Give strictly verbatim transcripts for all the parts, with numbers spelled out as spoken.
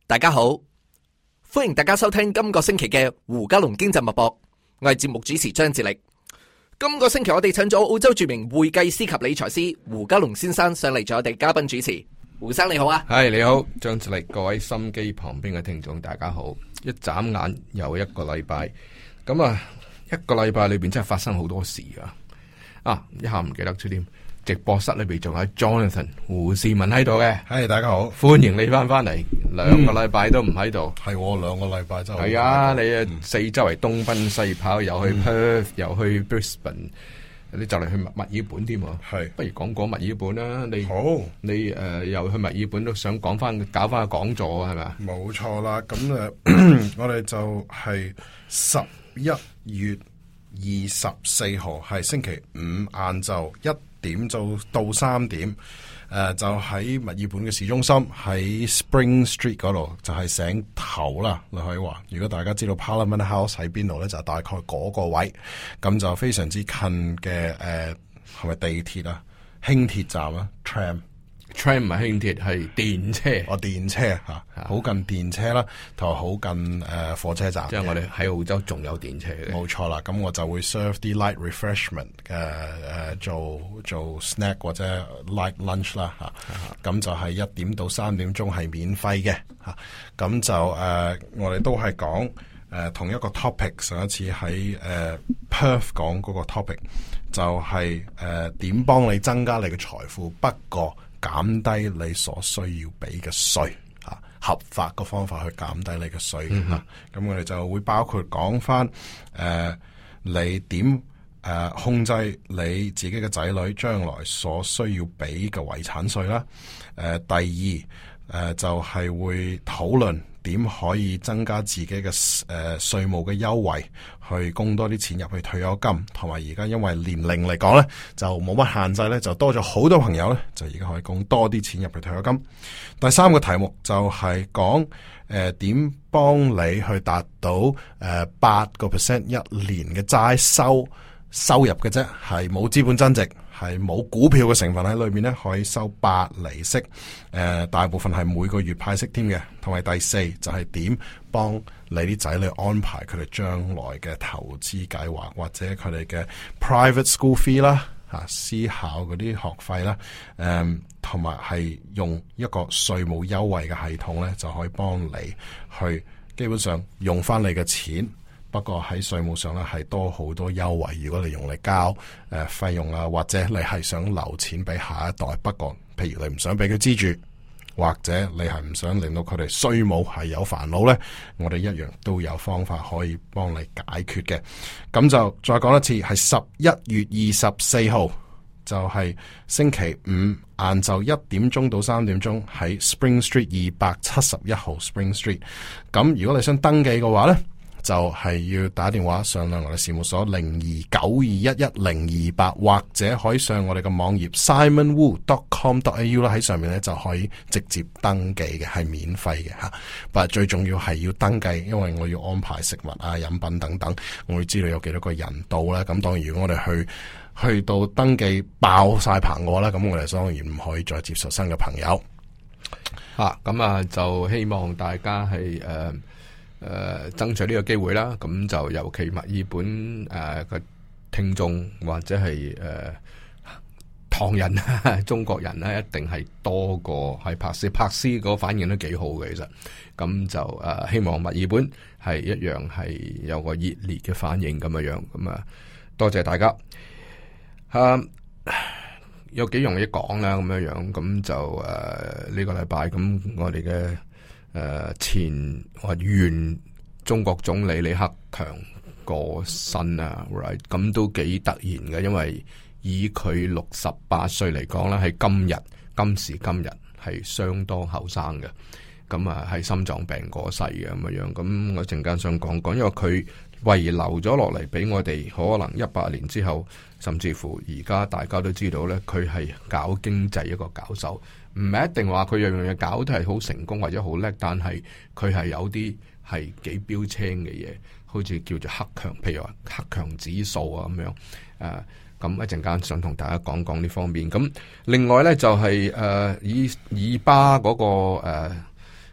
大家好，歡迎大家收聽今個星期嘅胡嘉龍經濟脈搏，我係節目主持張志力。今個星期我哋請咗澳洲著名會計師及理財師胡嘉龍先生上嚟做我哋嘉賓主持。胡生你好啊。 係你好，張志力，各位心機旁邊嘅聽眾大家好。一眨眼又一個禮拜，咁啊一個禮拜裏邊真係發生好多事啊！啊一下唔記得咗添。直播室裏邊仲有 Jonathan 胡士文喺度嘅， 係、hey, 大家好， 歡迎你翻翻嚟，兩個禮拜都唔喺度， 係、嗯、我兩個禮拜真係係啊！你啊、嗯、四周圍東奔西跑，又去 Perth，、嗯、又去 Brisbane， 你就嚟去墨爾本添喎，係不如講講墨爾本啦。你好，你誒、呃、又去墨爾本都想講翻搞翻個講座係咪？ 冇錯啦，咁誒，我哋就係十一月二十四號係星期五晏晝一點就到三點，誒、呃、就喺墨爾本嘅市中心，喺 Spring Street 嗰度，就係、是、醒頭啦。你可以話，如果大家知道 Parliament House 喺邊度咧，就係、大概嗰個位，咁就非常之近嘅。誒係咪地鐵啊？輕鐵站啊 ？Tram Tram 唔係輕鐵，係電車。 哦，電車吓，好、啊、近電車啦，同埋好近誒、呃、火車站。 即係我哋喺澳洲仲有電車嘅。 冇錯啦，咁我就會 serve 啲 light refreshment 嘅、呃、誒做做 snack 或者 light lunch 啦吓。咁、啊、就係一點到三點鐘係免費嘅吓。咁、啊、就誒、呃、我哋都係講誒同一個 topic。上一次喺誒、呃、Perth 講嗰個 topic 就係誒點幫你增加你嘅財富，不過減低你所需要俾嘅稅，吓合法嘅方法去減低你嘅稅吓。咁、嗯啊、我哋就會包括講翻誒你點誒、呃、控制你自己嘅仔女將來所需要俾嘅遺產稅啦。誒、呃，第二誒、呃、就係、是、會討論點可以增加自己嘅誒稅務嘅優惠，去供多啲錢入去退休金，同埋而家因為年齡嚟講咧，就冇乜限制咧，就多咗好多朋友咧，就而家可以供多啲錢入去退休金。第三個題目就係講誒點幫你去達到誒八個 percent 一年嘅齋收收入嘅啫，係冇資本增值，係冇股票嘅成分喺裏面咧，可以收八厘息，誒、呃，大部分係每個月派息添嘅。同埋第四就係點幫你啲仔女安排佢哋將來嘅投資計劃，或者佢哋嘅 private school fee 啦，吓私校嗰啲學費啦，誒、嗯，同埋係用一個稅務優惠嘅系統咧，就可以幫你去基本上用翻你嘅錢。不過喺稅務上咧係多好多優惠，如果你用嚟交誒費、呃、用啊，或者你係想留錢俾下一代，不過譬如你唔想俾佢資住，或者你係唔想令到佢哋稅務係有煩惱咧，我哋一樣都有方法可以幫你解決嘅。咁就再講一次，係十一月二十四號，就係、是、星期五晏晝一點鐘到三點鐘喺 Spring Street 二百七十一號 Spring Street。咁如果你想登記嘅話咧，就係、是、要打電話上嚟我哋事務所零二九二一一零二八，或者可以上我哋嘅網頁 simon wu dot com dot a u 啦，喺上面咧就可以直接登記嘅，係免費嘅吓。但係最重要係要登記，因為我要安排食物啊、飲品等等，我會知道有幾多個人到啦。咁當然如果我哋去去到登記爆晒棚嘅話咧，咁我哋當然唔可以再接受新嘅朋友。 吓咁啊，就希望大家係誒。呃誒、呃，爭取呢個機會啦，咁就尤其墨爾本誒嘅、呃、聽眾或者係誒、呃、唐人中國人咧，一定係多過喺柏斯，柏斯嗰個反應都幾好嘅，其實咁就誒、呃、希望墨爾本係一樣係有個熱烈嘅反應咁樣樣，咁啊多謝大家。啊，有幾樣嘢講啦，咁樣樣，咁就誒呢、呃這個禮拜咁我哋嘅。誒、呃，前或原中國總理李克強過身啊 ，right 咁都幾突然嘅，因為以佢六十八歲嚟講咧，係今日今時今日係相當後生嘅，咁啊係心臟病過世嘅咁樣樣，咁我陣間想講講，因為佢遺留咗落嚟俾我哋，可能一百年之後，甚至乎而家大家都知道咧，佢係搞經濟一個搞手。唔係一定話佢樣樣嘢搞都係好成功或者好叻，但係佢係有啲係幾標青嘅嘢，好似叫做黑強，譬如話黑強指數啊咁樣。誒，咁一陣間想同大家講講呢方面。咁另外咧就係、是、誒、呃、以以巴嗰、那個誒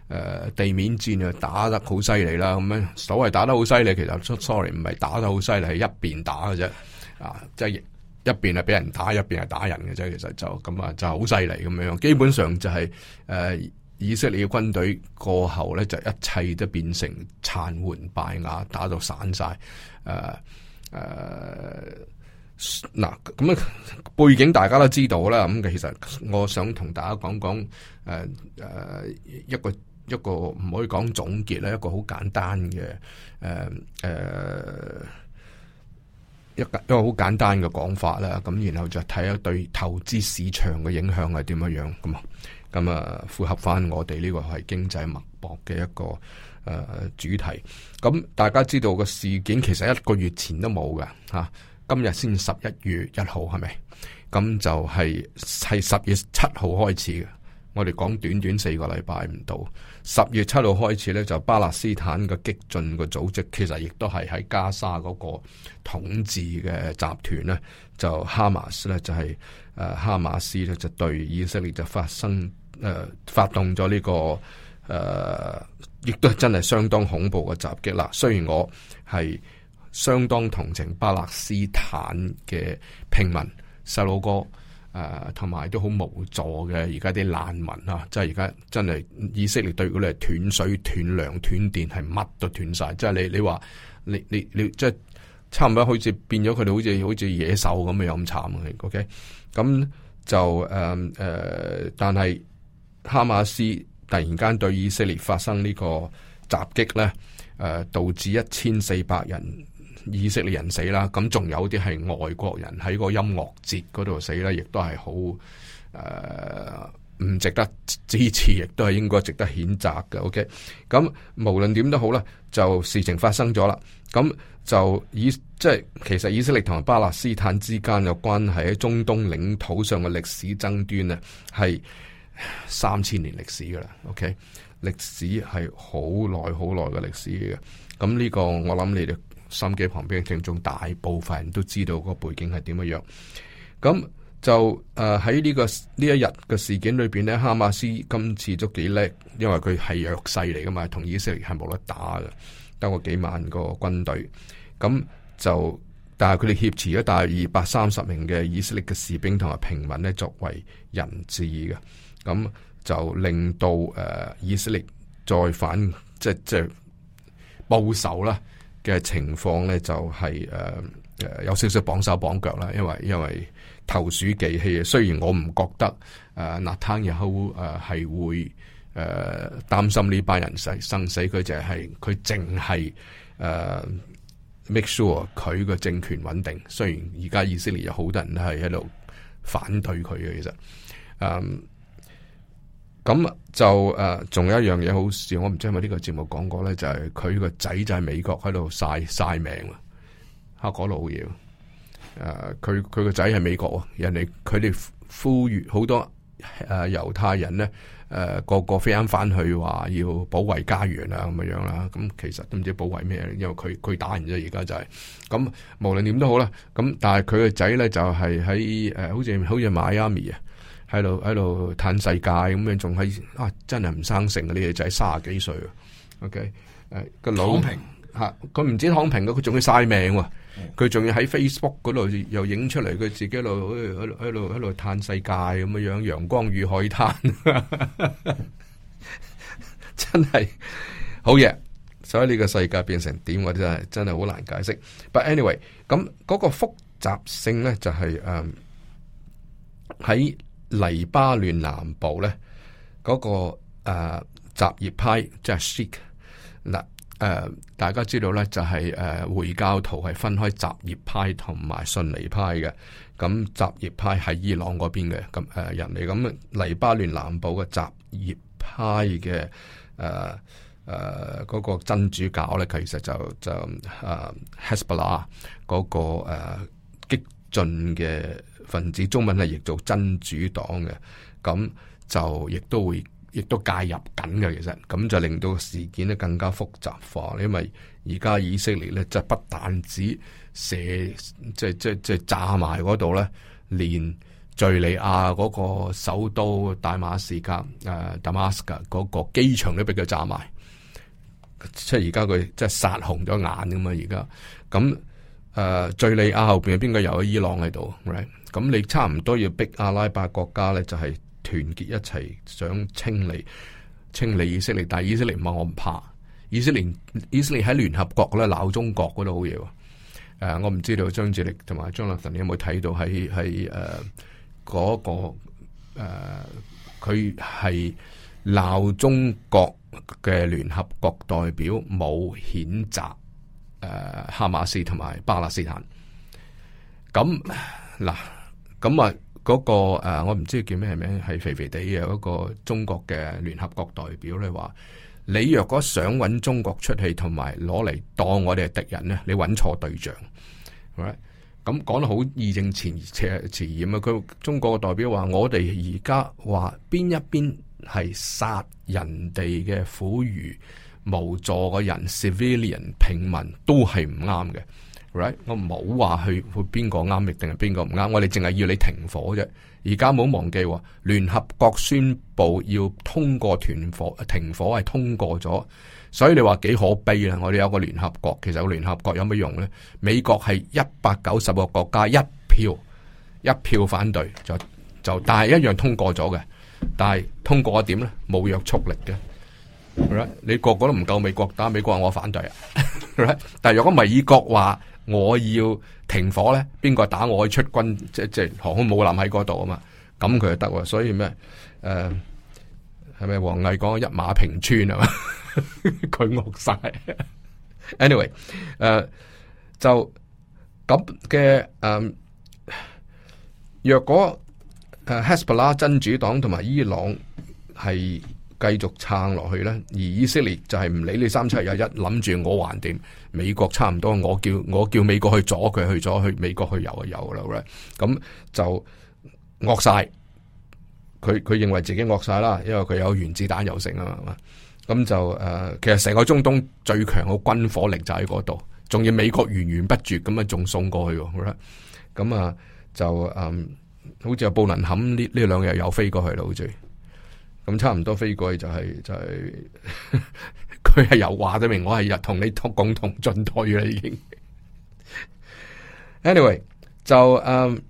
誒地面戰啊打得好犀利啦，咁樣所謂打得好犀利，其實 sorry 唔係打得好犀利，係一邊打嘅啫，啊，即係一邊係俾人打，一邊係打人嘅啫，其實就咁啊，就好犀利咁樣，基本上就係、是、誒、呃、以色列嘅軍隊過後咧，就一切都變成殘垣敗瓦，打到散晒，誒、呃、誒。呃嗱，咁啊背景大家都知道啦。咁其實我想同大家講講，誒、呃、誒、呃、一個一個唔可以講總結咧，一個好簡單嘅誒誒一個一個好簡單嘅講法啦。咁然後就睇下對投資市場嘅影響係點樣樣咁啊。咁啊符合翻我哋呢個係經濟脈搏嘅一個誒、呃、主題。咁大家知道個事件其實一個月前都冇㗎吓。今日先十一月一號係咪？咁就係係十月七號開始嘅。我哋講短短四個禮拜唔到，十月七號開始咧，就巴勒斯坦嘅激進嘅組織，其實亦都係喺加沙嗰個統治嘅集團咧，就哈馬斯咧就係、是、誒、呃、哈馬斯咧就對以色列就發生誒、呃、發動咗呢、這個誒，亦、呃、都係真係相當恐怖嘅襲擊啦。雖然我係相當同情巴勒斯坦嘅平民細路哥，誒同埋都好無助嘅而家啲難民啊！即係而家真係以色列對佢哋係斷水斷糧斷電，係乜都斷晒。即係你你話你你你即係差唔多好似變咗佢哋好似好似野獸咁樣咁慘啊！OK，咁就誒誒、呃，但係哈馬斯突然間對以色列發生呢個襲擊咧，誒、呃、導致一千四百人。以色列人死啦，咁仲有啲係外國人喺個音樂節嗰度死啦，亦都係好誒唔值得支持，亦都係應該值得譴責嘅。OK，咁無論點都好啦，就事情發生咗啦，咁就以即係其實以色列同埋巴勒斯坦之間嘅關係喺中東領土上嘅歷史爭端咧，係三千年歷史噶啦。OK，歷史係好耐好耐嘅歷史嘅。咁呢個我諗你哋心機旁邊嘅聽眾大部分人都知道個背景係點樣樣，咁就誒喺呢個呢一日嘅事件裏邊咧，哈馬斯今次都幾叻，因為佢係弱勢嚟噶嘛，同以色列係冇得打嘅，得個幾萬個軍隊，咁就但係佢哋挾持咗大約二百三十名嘅以色列嘅士兵同埋平民咧作為人質嘅，咁就令到誒、呃、以色列再反即係即係報仇啦嘅情況咧，就係誒誒有少少綁手綁腳啦，因為因為投鼠忌器。雖然我唔覺得誒納坦雅胡誒係會誒擔心呢班人死生死，佢就係佢淨係誒 make sure 佢個政權穩定。雖然而家以色列有好多人都係喺度反對佢嘅，其實誒咁就誒仲、呃、有一樣嘢好笑，我唔知係咪呢個節目講過咧，就係佢個仔就喺美國喺度晒晒命啊，黑果佬嘢。誒，佢佢個仔係美國啊，人哋佢哋呼籲好多誒猶、呃、太人咧，誒、呃、個個飛返翻去話要保衛家園啊咁樣樣啦。咁其實都唔知保衛咩，因為佢佢打人啫，而家就係、是、咁。無論點都好啦，咁但係佢個仔咧就係喺誒，好似好似邁阿密啊。喺度喺度嘆世界咁樣，仲喺啊！真係唔生性嘅呢個仔，卅幾歲啊。OK，誒個老躺平吓，佢唔止躺平嘅，佢仲要晒命喎。佢仲要喺 Facebook 嗰度又影出嚟，佢自己喺度喺度喺度喺度嘆世界咁樣樣，陽光與海灘，真係好嘢。所以呢個世界變成點，我真係真係好難解釋。But anyway，咁嗰個複雜性咧就係誒喺。黎巴嫩南部咧，嗰、那個誒、呃、什葉派即係 Sikh 嗱誒，大家知道咧就係、是、誒、呃、回教徒係分開什葉派同埋遜尼派嘅。咁什葉派係伊朗嗰邊嘅咁誒人嚟，咁黎巴嫩南部嘅什葉派嘅誒誒嗰個真主教咧，其實就就誒 Hezbollah 嗰個誒、呃、激進嘅分子，中文係譯做真主黨嘅，咁就亦都會，亦都介入緊嘅。其實咁就令到事件咧更加複雜化，因為而家以色列咧，即係不但止射，即係即係即係炸埋嗰度咧，連敘利亞嗰個首都大馬士革誒 Damascus 嗰個機場都俾佢炸埋，即係而家佢即係殺紅咗眼噶嘛而家。咁誒敘利亞後邊邊個有伊朗喺度 right？ 咁你差唔多要逼阿拉伯國家咧，就係團結一齊想清理清理以色列，但係以色列唔話我唔怕。以色列以色列喺聯合國咧鬧中國嗰度好嘢喎。誒、呃，我唔知道張志力同埋張立臣你有冇睇到喺喺誒嗰個誒，佢係鬧中國嘅聯合國代表冇譴責誒、呃、哈馬斯同埋巴勒斯坦。咁嗱，咁啊嗰個誒、呃，我唔知叫咩名，係肥肥地嘅嗰個中國嘅聯合國代表咧話。你若果想揾中國出氣，同埋攞嚟當我哋係敵人咧，你揾錯對象，係咪？咁講得好義正詞詞嚴啊！佢中國嘅代表話：我哋而家話邊一邊係殺人哋嘅婦孺無助嘅人 ，civilian 平民都係唔啱嘅。Right? 我冇話去去邊個啱，定係邊個唔啱。我哋淨係要你停火啫。而家冇忘記，聯合國宣布要通過斷火停火係通過咗，所以你話幾可悲啦！我哋有個聯合國，其實個聯合國有乜用呢？美國係一百九十個國家一票一票反對，就就但係一樣通過咗嘅。但係通過一點呢？冇約束力嘅。Right? 你個個都唔夠美國打，美國話我反對啊。Right? 但係如果美國話我要停火咧，邊個打我可以出軍，即即航空母艦喺嗰度啊嘛，咁佢就得喎。所以咩？誒係咪王毅講一馬平川啊嘛？佢惡晒。Anyway，誒、呃、就咁嘅誒，若果誒 Hezbollah 真主黨同埋伊朗係繼續撐落去咧，而以色列就係唔理你三七廿一，諗住我還掂，美國差唔多，我叫我叫美國去阻佢，去咗去美國去游啊游啦，咁就惡晒，佢佢認為自己惡晒啦，因為佢有原子彈又成啊嘛，咁就誒、呃，其實成個中東最強嘅軍火力就喺嗰度，仲要美國源源不絕咁啊，仲送過去，咁啊就誒、嗯，好似有布林肯呢呢兩日又飛過去啦，好似。咁差唔多飛過去就係、是、就係佢係有話得明，我係日同你同共同進退啦已經。Anyway 就誒呢、um,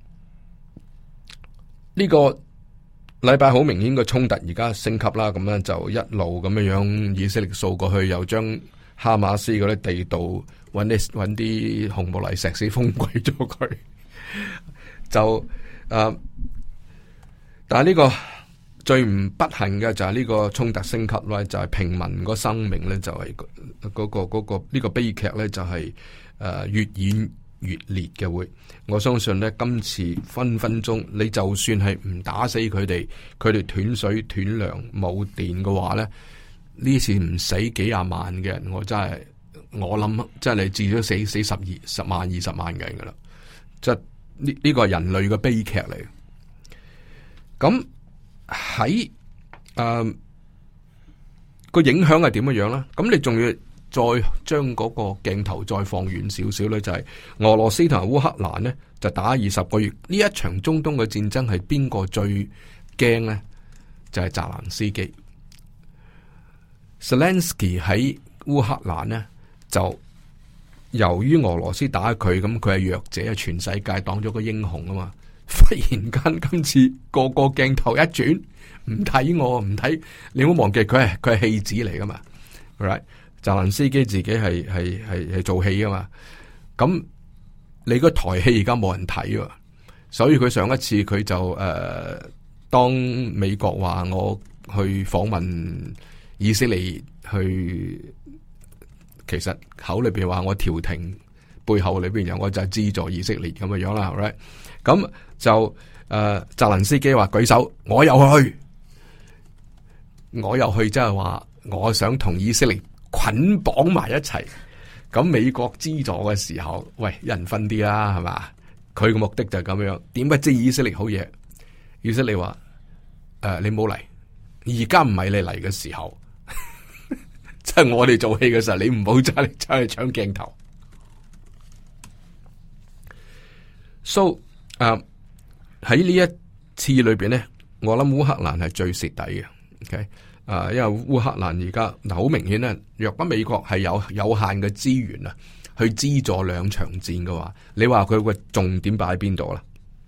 個禮拜好明顯個衝突而家升級啦，咁樣就一路咁樣樣以色列掃過去，又將哈馬斯嗰啲地道揾啲揾啲紅木泥石屎封鬼咗佢，就誒、uh, 但係呢、這個。最唔不幸嘅就係呢個衝突升級啦，就係、是、平民個生命咧就係、是、嗰、那個嗰、那個呢、這個悲劇咧就係、是、誒、呃、越演越烈嘅會。我相信咧今次分分鐘你就算係唔打死佢哋，佢哋斷水斷糧冇電嘅話咧，呢次唔死幾廿萬嘅人，我真係我諗真係你至少死死十二十萬二十萬嘅人噶啦，即係呢呢個係人類嘅悲劇嚟。咁喺誒個影響係點樣樣咧？咁你仲要再將嗰個鏡頭再放遠少少咧，就係、是、俄羅斯同埋烏克蘭咧就打二十個月。呢一場中東嘅戰爭係邊個最驚咧？就係、是、澤連斯基。Zelensky 喺烏克蘭咧就由於俄羅斯打佢，咁佢係弱者，全世界當咗個英雄啊嘛。忽然間今次個個鏡頭一轉，唔睇我唔睇，你唔好忘記佢係佢係戲子嚟噶嘛 right？ 澤連斯基自己係係係係做戲噶嘛，咁你個台戲而家冇人睇喎，所以佢上一次佢就誒、呃，當美國話我去訪問以色列去，其實口裏邊話我調停，背後裏邊有我就係資助以色列咁嘅樣啦 right？ 咁就誒，澤連斯基話舉手，我又去，我又去，即係話我想同以色列捆綁埋一齊。咁美國資助嘅時候，喂，一人分啲啦，係嘛？佢嘅目的就係咁樣。點不知以色列好嘢？以色列話誒、呃，你冇嚟，而家唔係你嚟嘅時候，即係我哋做戲嘅時候，你唔好走嚟走去搶鏡頭。So 誒喺呢一次裏邊咧，我諗烏克蘭係最蝕底嘅。OK，啊，因為烏克蘭而家嗱好明顯咧，若果美國係有有限嘅資源啊，去資助兩場戰嘅話，你話佢個重點擺喺邊度啦？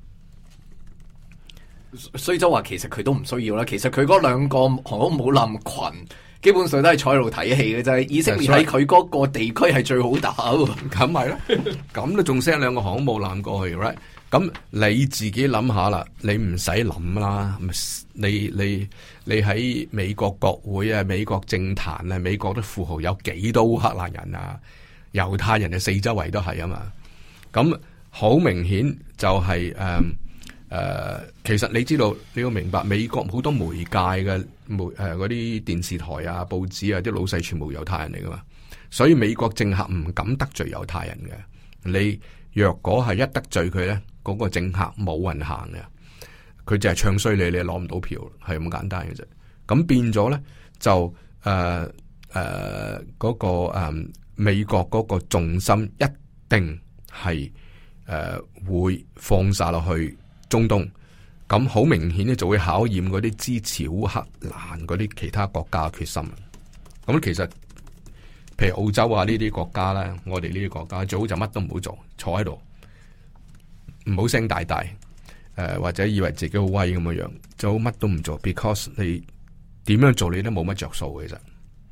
所以就話其實佢都唔需要啦。其實佢嗰兩個航空母艦群，基本上都係坐喺度睇戲嘅啫。以色列喺佢嗰個地區係最好打喎。咁咪咯， 咁都仲 send 兩個航空母艦過去 ，right？咁你自己諗下啦，你唔使諗啦。你你你喺美國國會啊、美國政壇啊、美國啲富豪有幾多烏克蘭人啊？猶太人嘅四周圍都係啊嘛。咁好明顯就係誒誒，其實你知道你要明白，美國好多媒介嘅媒誒嗰啲電視台啊、報紙啊，啲老細全部猶太人嚟噶嘛。所以美國政客唔敢得罪猶太人嘅。你若果係一得罪佢咧，嗰個政客冇運行嘅，佢就係唱衰你，你攞唔到票，係咁簡單嘅啫。咁變咗咧，就誒誒嗰個誒、呃、美國嗰個重心一定係誒、呃、會放晒落去中東。咁好明顯咧，就會考驗嗰啲支持烏克蘭嗰啲其他國家嘅決心。咁其實譬如澳洲啊呢啲國家咧，我哋呢啲國家最好就乜都唔好做，坐喺度。唔好聲大大，誒、呃、或者以為自己好威咁樣樣，就乜都唔做 ，because 你點樣做你都冇乜着數嘅。其實，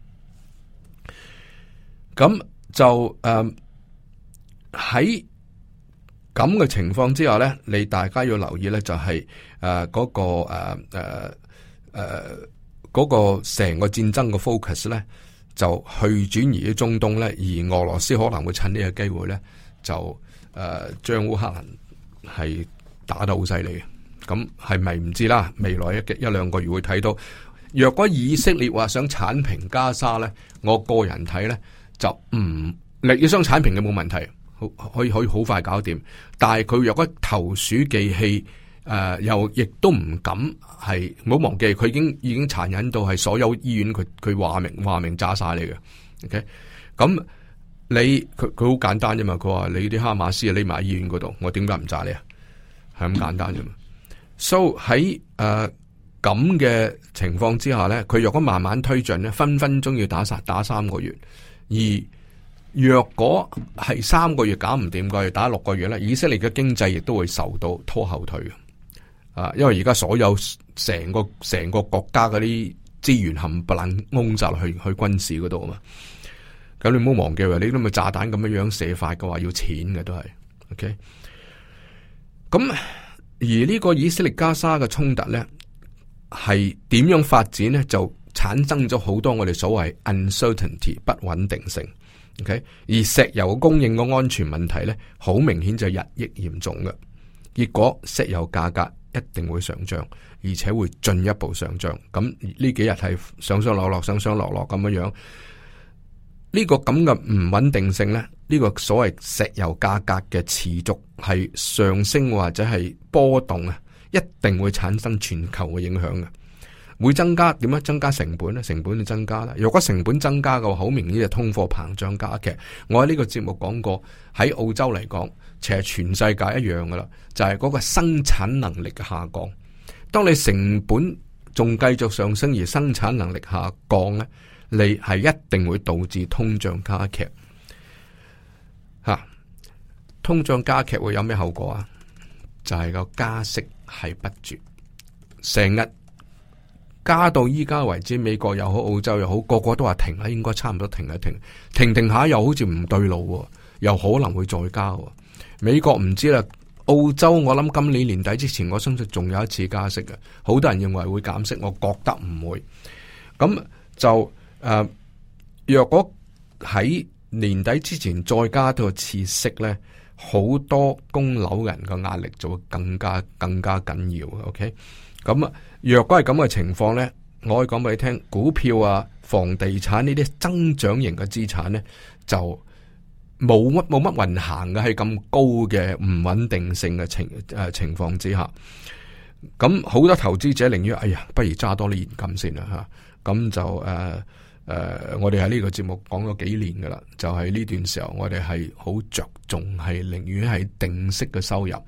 咁就誒喺咁嘅情況之下咧，你大家要留意咧，就係誒嗰個誒誒誒嗰個成個戰爭嘅 focus 咧，就去轉移喺中東咧，而俄羅斯可能會趁呢個機會咧，就誒將烏克蘭係打得好犀利嘅，咁係咪唔知啦？未來一一兩個月會睇到。若果以色列話想剷平加沙咧，我個人睇咧就唔，你要想剷平嘅冇問題，可以可以好快搞掂。但係佢若果投鼠忌器，誒、呃、又亦都唔敢係，唔好忘記佢已經已經殘忍到係所有醫院佢佢話明話明炸晒你嘅。OK，咁。你佢佢好簡單啫嘛，佢話你啲哈馬斯啊匿埋喺醫院嗰度，我點解唔炸你啊？係咁簡單啫嘛。So 喺誒咁嘅情況之下咧，佢若果慢慢推進咧，分分鐘要打殺打三個月。而若果係三個月搞唔掂嘅，打六個月咧，以色列嘅經濟亦都會受到拖後腿嘅。啊，因為而家所有成個成個國家嗰啲資源冚唪唥掹晒落去去軍事嗰度啊嘛。咁你唔好忘記喎，你都咪炸彈咁樣樣射法嘅話，要錢嘅都係，OK。咁而呢個以色列加沙嘅衝突咧，係點樣發展咧？就產生咗好多我哋所謂 uncertainty 不穩定性，OK。而石油供應嘅安全問題咧，好明顯就日益嚴重嘅。結果石油價格一定會上漲，而且會進一步上漲。咁呢幾日係上上落落、上上落落咁樣樣。呢個咁嘅唔穩定性咧，呢個所謂石油價格嘅持續係上升或者係波動啊，一定會產生全球嘅影響嘅，會增加點樣？增加成本咧，成本就增加啦。如果成本增加嘅話，好明顯就通貨膨脹加劇。我喺呢個節目講過，喺澳洲嚟講，其實全世界一樣噶啦，就係嗰個生產能力嘅下降。當你成本仲繼續上升而生產能力下降咧，你係一定會導致通脹加劇，吓、啊、通脹加劇會有咩後果啊？就係、是、個加息係不絕，成日加到依家為止，美國又好，澳洲又好，個個都話停啦，應該差唔多停一停，停停下又好似唔對路，又可能會再加。美國唔知啦，澳洲我諗今年年底之前，我相信仲有一次加息嘅，好多人認為會減息，我覺得唔會，咁就。誒、呃，若果喺年底之前再加多次息咧，好多供樓人嘅壓力就會更加更加緊要。OK，咁啊，若果係咁嘅情況咧，我可以講俾你聽，股票啊、房地產呢啲增長型嘅資產咧，就冇乜冇乜運行嘅，係咁高嘅唔穩定性嘅情誒、呃、情況之下，咁好多投資者寧願哎呀，不如揸多啲現金先啦吓，咁就誒。呃誒、呃，我哋喺呢個節目講咗幾年噶啦，就係、是、呢段時候我哋係好着重係寧願係定息嘅收入，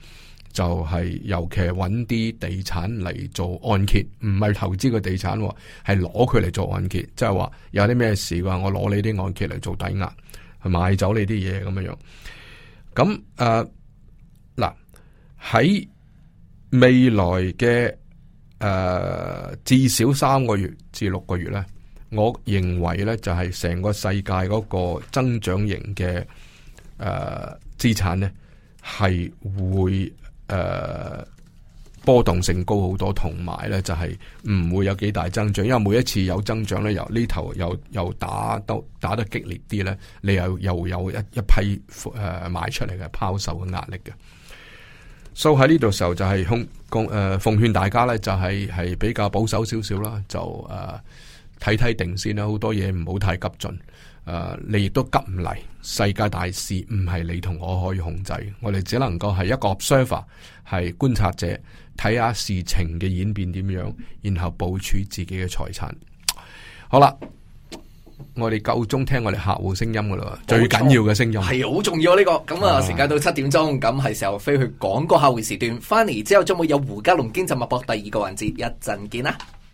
就係尤其係揾啲地產嚟做按揭，唔係投資個地產，係攞佢嚟做按揭，即係話有啲咩事嘅話，我攞你啲按揭嚟做抵押，去買走你啲嘢咁樣樣。咁誒嗱喺未來嘅誒、呃、至少三個月至六個月咧，我認為咧就係成個世界嗰個增長型嘅誒資產咧係會。誒、呃，波動性高好多，同埋咧就係、是、唔會有幾大增長，因為每一次有增長咧，由呢頭又又打得打得激烈啲咧，你又又有一一批誒賣、呃、出嚟嘅拋售嘅壓力嘅。所以喺呢度時候就係控供誒奉勸大家咧，就係、是、係比較保守少少啦，就誒睇睇定先啦，好多嘢唔好太急進。誒、呃，你亦都急唔嚟，世界大事唔係你同我可以控制，我哋只能夠係一個 observer， 係觀察者，睇下事情嘅演變點樣，然後部署自己嘅財產。好啦，我哋夠鐘聽我哋客戶聲音噶啦，最緊要嘅聲音係好重要呢、這個。咁啊，時間到七點鐘，咁係時候飛去廣告客戶時段，翻嚟之後將會有胡嘉龍經濟脈搏第二個環節，一陣見啦。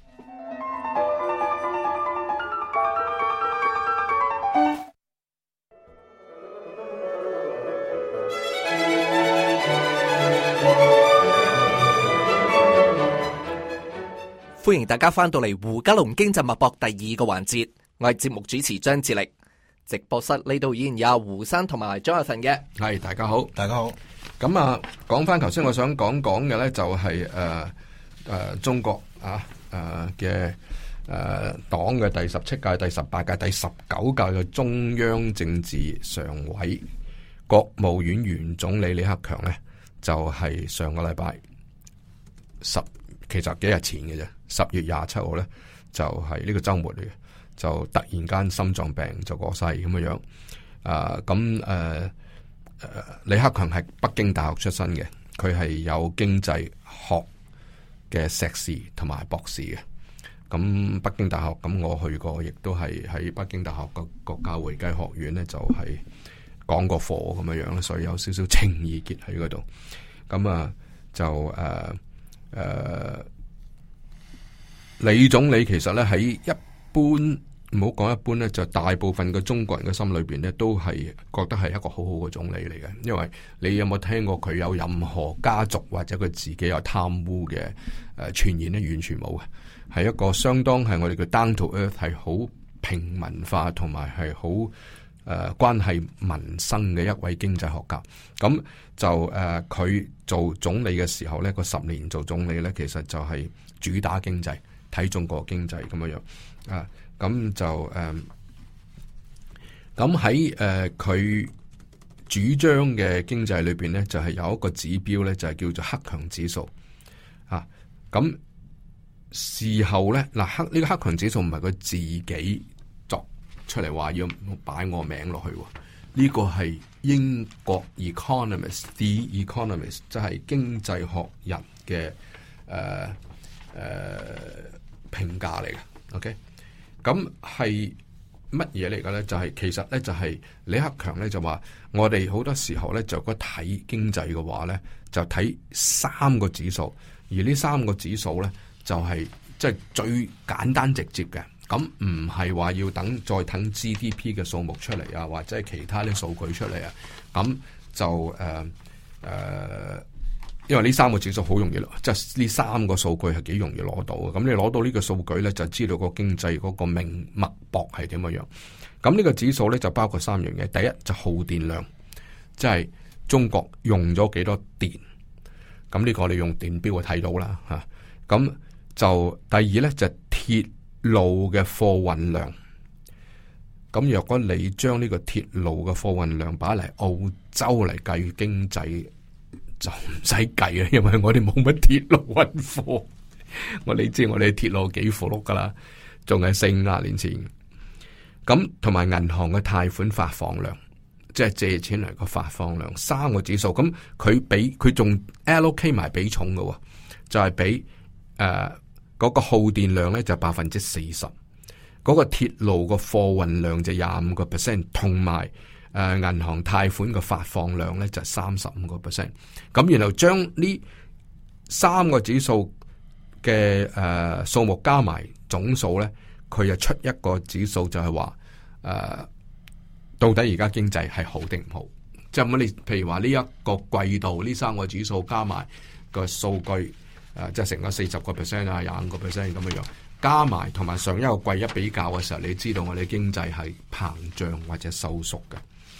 歡迎大家翻到嚟胡嘉龍經濟脈搏第二個環節，我係節目主持張志力。直播室呢度依然有胡生同埋張亞晨嘅。 係，大家好， 大家好。 咁啊，講翻頭先我想講講嘅咧，就係誒誒中國啊誒嘅誒黨嘅第十七屆、第十八屆、第十九屆嘅中央政治常委、國務院原總理李克強咧，就係、是、上個禮拜十。其實幾日前嘅啫，十月廿七號咧就係、是、呢個周末嚟嘅，就突然間心臟病就過世咁嘅樣。啊，咁誒誒，李克強係北京大學出身嘅，佢係有經濟學嘅碩士同埋博士嘅。咁北京大學咁我去過，亦都係喺北京大學個國家會計學院咧，就係、是、講過課咁樣樣，所以有少少情意結喺嗰度。咁啊就誒。呃誒、uh，李總理其實咧喺一般唔好講一般咧，就大部分嘅中國人嘅心裏邊咧，都係覺得係一個好好嘅總理嚟嘅。因為你有冇聽過佢有任何家族或者佢自己有貪污嘅誒傳言咧？完全冇嘅，係一個相當係我哋叫 down to earth，係好平民化同埋係好誒關係民生嘅一位經濟學家。咁就誒佢、呃、做總理嘅時候咧，個十年做總理咧，其實就係主打經濟，睇中國經濟咁樣樣啊。咁就誒，咁喺誒佢主張嘅經濟裏邊咧，就係、是、有一個指標咧，就係、是、叫做克強指數啊。咁事後咧，嗱克呢個克強指數唔係佢自己作出嚟話要擺我名落去。呢個係英國 Economist，The Economist， 即係經濟學人嘅誒誒評價嚟嘅。OK，咁係乜嘢嚟嘅咧？就係、是、其實咧，就係李克強咧就話，我哋好多時候咧，就如果睇經濟嘅話咧，就睇三個指數，而呢三個指數咧，就係即係最簡單直接嘅。咁唔係話要等再等 G D P 嘅數目出嚟啊，或者係其他啲數據出嚟啊。咁就誒誒、呃呃，因為呢三個指數好容易，即係呢三個數據係幾容易攞到嘅。咁你攞到呢個數據咧，就知道個經濟嗰個命脈搏係點樣樣。咁呢個指數咧就包括三樣嘢，第一就耗電量，即係中國用咗幾多電。咁呢個你用電表就睇到啦吓。咁就第二咧就鐵路嘅貨運量，咁若果你將呢個鐵路嘅貨運量擺嚟澳洲嚟計經濟，就唔使計啦，因為我哋冇乜鐵路運貨。我哋知我哋鐵路幾富碌噶啦，仲係四五廿年前。咁同埋銀行嘅貸款發放量，即係借錢嚟個發放量，三個指數。咁佢俾佢仲 allocate 埋比重嘅，就係俾誒。嗰個耗電量咧就百分之四十，嗰個鐵路個貨運量就廿五個 percent，同埋誒銀行貸款嘅發放量咧就三十五個 percent。咁然後將呢三個指數嘅誒數目加埋總數咧，佢就出一個指數就係話誒到底而家經濟係好定唔好？即係咁你譬如話呢一個季度呢三個指數加埋個數據誒、呃，即係成個四十個 percent 啊，廿五個 percent 咁樣樣。加埋同埋上一個季一比較嘅時候，你知道我哋經濟係膨脹或者收縮嘅。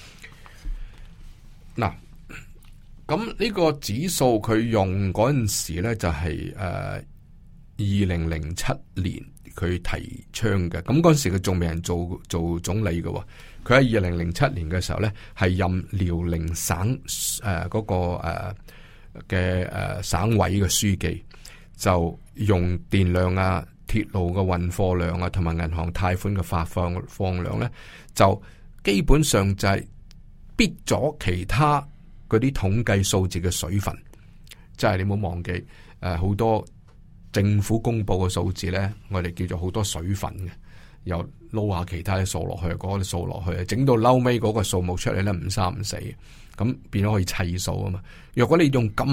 嗱，咁呢個指數佢用嗰陣時咧就係誒二零零七年佢提倡嘅。咁嗰陣時佢仲未人做做總理嘅，佢喺二零零七年嘅時候咧係任遼寧省誒嗰、呃那個誒嘅誒省委嘅書記，就用電量啊、鐵路嘅運貨量啊，同埋銀行貸款嘅發放放量咧，就基本上就係逼咗其他嗰啲統計數字嘅水分。即係你唔好忘記，誒好多政府公布嘅數字咧，我哋叫做好多水分嘅，又撈下其他啲數落去，嗰啲數落去，整到嬲尾嗰個數目出嚟咧唔三唔四，咁變咗可以砌數啊嘛。若果你用咁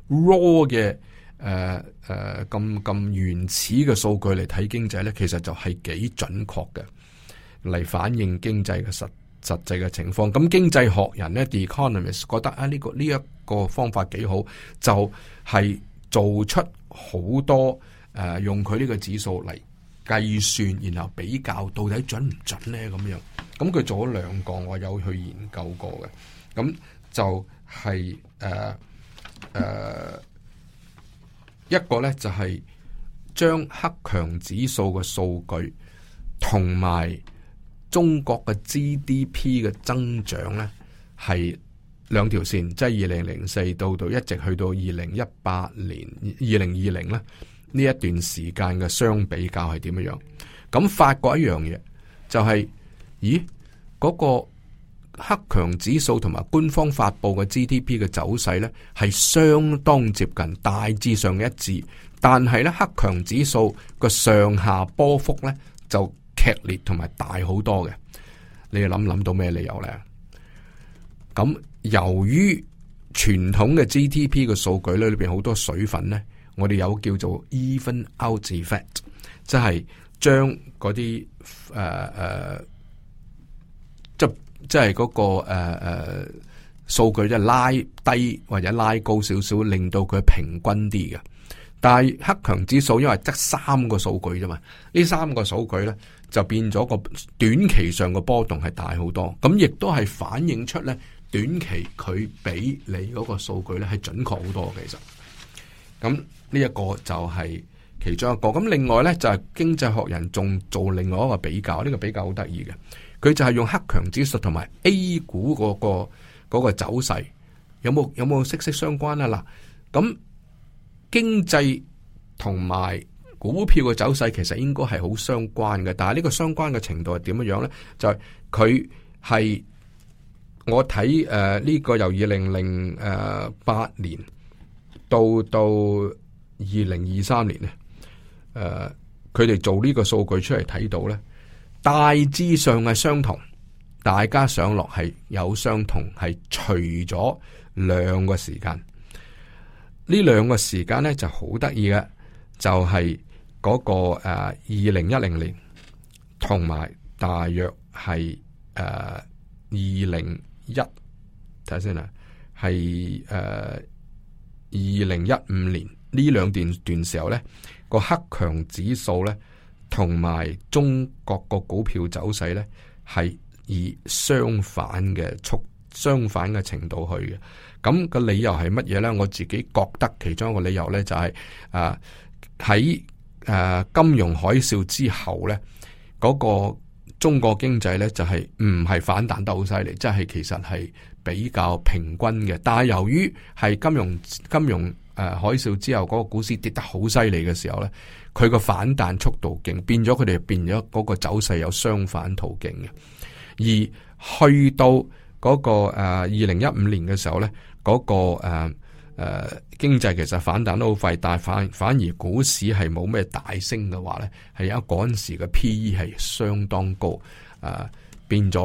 raw 嘅誒誒咁咁原始嘅數據嚟睇經濟咧，其實就係幾準確嘅嚟反映經濟嘅實實際嘅情況。咁經濟學人咧 The Economist 覺得啊呢、呢個呢一、呢個方法幾好，就係、是、做出好多誒、呃、用佢呢個指數嚟計算，然後比較到底準唔準咧咁樣。咁佢做咗兩個，我有去研究過嘅。咁就係誒誒一個咧就係、是、將克強指數嘅數據同埋中國嘅 G D P 嘅增長咧係兩條線，即係二零零四到到一直去到二零一八年二零二零咧呢一段時間嘅相比較係點樣樣？咁發覺一樣嘢就係、是，咦嗰、那個克強指數同埋官方發布嘅 G D P 嘅走勢咧係相當接近，大致上一致，但係咧克強指數個上下波幅咧就劇烈同埋大好多嘅。你諗諗到咩理由咧？咁由於傳統嘅 G D P 嘅數據咧裏邊好多水分咧，我哋有叫做 even out effect， 即係將嗰啲誒誒，即即係嗰個誒誒數據即係拉低或者拉高少少，令到佢平均啲嘅。但係克強指數因為得三個數據啫嘛，呢三個數據咧就變咗個短期上嘅波動係大好多，咁亦都係反映出咧短期佢比你嗰個數據咧係準確好多嘅。其實咁呢一個就係其中一個。咁另外咧就係、是、經濟學人仲做另外一個比較，呢、這個比較好得意嘅，佢就係用克強指數同埋 A 股嗰、那個、那個走勢有冇有冇息息相關啊？嗱，咁經濟同埋股票嘅走勢其實應該係好相關嘅，但係呢個相關嘅程度係點樣樣咧？就係佢係我睇誒呢個由二零零誒八年到到二零二三年咧，誒佢哋做呢個數據出嚟睇到咧，大致上係相同，大家上落係有相同，係除咗兩個時間。呢兩個時間咧就好得意嘅，就係嗰個誒二零一零年同埋大約係誒二零一睇下先啦，係誒二零一五年呢兩段段時候咧，個克強指數咧同埋中國個股票走勢咧係以相反嘅速相反嘅程度去嘅。咁個理由係乜嘢咧？我自己覺得其中一個理由咧就係誒喺誒金融海嘯之後咧，嗰個中國經濟咧就係唔係反彈得好犀利，即係其實係比較平均嘅。但係由於係金融金融誒海嘯之後嗰個股市跌得好犀利嘅時候咧，佢個反彈速度勁，變咗佢哋變咗嗰個走勢有相反途徑嘅。而去到嗰個誒二零一五年嘅時候咧，嗰、那個誒誒、呃呃、經濟其實反彈得好快，但係反反而股市係冇咩大升嘅話咧，係因為嗰陣時嘅 P E 係相當高，誒、呃、變咗咧